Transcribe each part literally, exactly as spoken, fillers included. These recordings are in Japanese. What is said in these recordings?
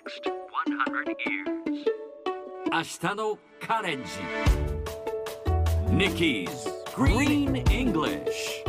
next one hundred years. 明日のカレンジ Nikki's Green English.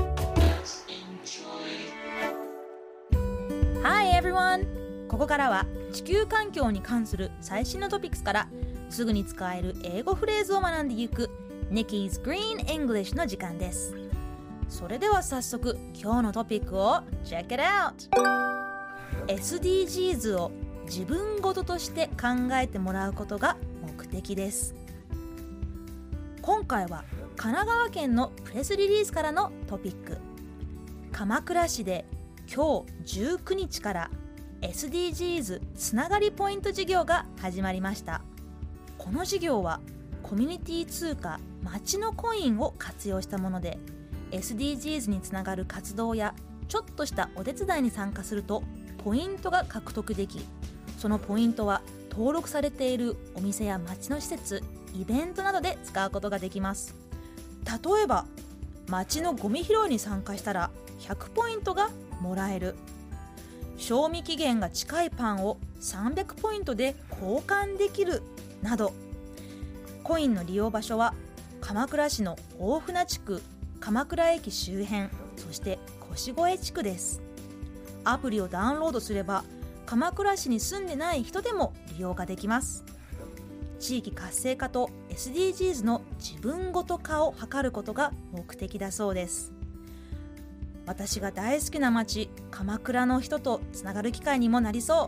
Hi everyone! ここからは地球環境に関する最新のトピックスからすぐに使える英語フレーズを学んでいく Nikki's Green English の時間です。それでは早速今日のトピックを Check it out! エスディージーズ を自分ごととして考えてもらうことが目的です。今回は神奈川県のプレスリリースからのトピック。鎌倉市で今日じゅうくにちから エスディージーズ つながりポイント事業が始まりました。この事業はコミュニティ通貨街のコインを活用したもので エスディージーズ につながる活動やちょっとしたお手伝いに参加するとポイントが獲得でき、そのポイントは登録されているお店や街の施設、イベントなどで使うことができます。例えば街のゴミ拾いに参加したらひゃくポイントがもらえる。賞味期限が近いパンをさんびゃくポイントで交換できるなど、コインの利用場所は鎌倉市の大船地区、鎌倉駅周辺、そして腰越地区です。アプリをダウンロードすれば鎌倉市に住んでない人でも利用ができます。地域活性化と エスディージーズ の自分ごと化を図ることが目的だそうです。私が大好きな街鎌倉の人とつながる機会にもなりそう。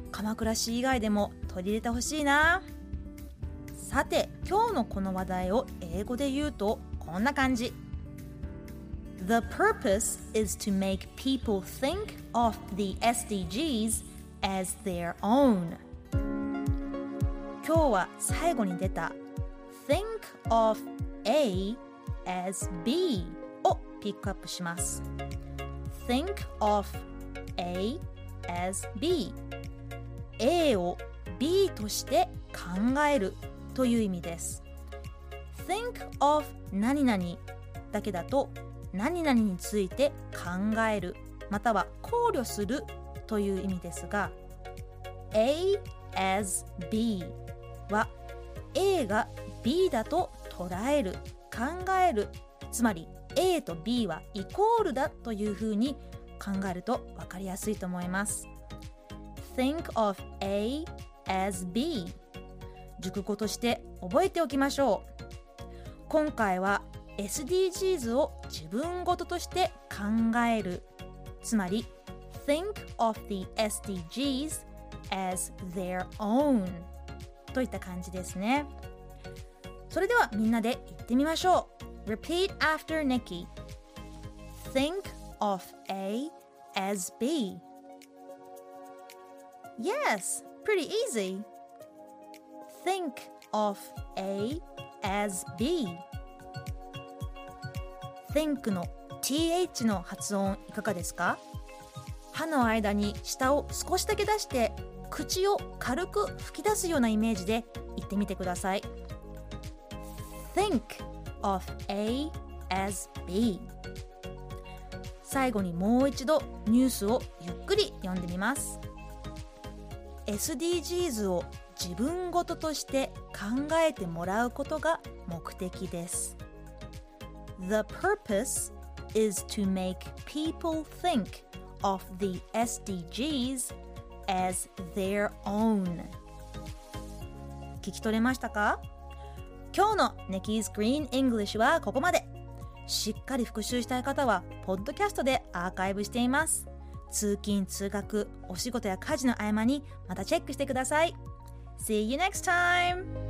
鎌倉市以外でも取り入れてほしいな。さて今日のこの話題を英語で言うとこんな感じ。 The purpose is to make people think of the エスディージーズ as their own。 今日は最後に出た Think of A as B をピックアップします。 Think of A as B、 A を B として考えるという意味です。 Think of 何々だけだと何々について考えるまたは考慮するという意味ですが、 A as B は A が B だと捉える、考える、つまり A と B はイコールだというふうに考えると分かりやすいと思います。 Think of A as B、 熟語として覚えておきましょう。今回は エスディージーズ を自分ごととして考える、つまり Think of the エスディージーズ as their own といった感じですね。それではみんなで言ってみましょう。 Repeat after Nikki. Think of A as B. Yes, pretty easy. Think of A as B. Think の ティーエイチ の発音いかがですか？歯の間に舌を少しだけ出して口を軽く吹き出すようなイメージで言ってみてください。 Think of A as B。 最後にもう一度ニュースをゆっくり読んでみます。 エスディージーズ を自分ごととして考えてもらうことが目的です。 The purpose is to make people think of the エスディージーズ as their own。 聞き取れましたか？今日の Nikki's Green English はここまで。しっかり復習したい方はポッドキャストでアーカイブしています。通勤通学、お仕事や家事の合間にまたチェックしてください。See you next time!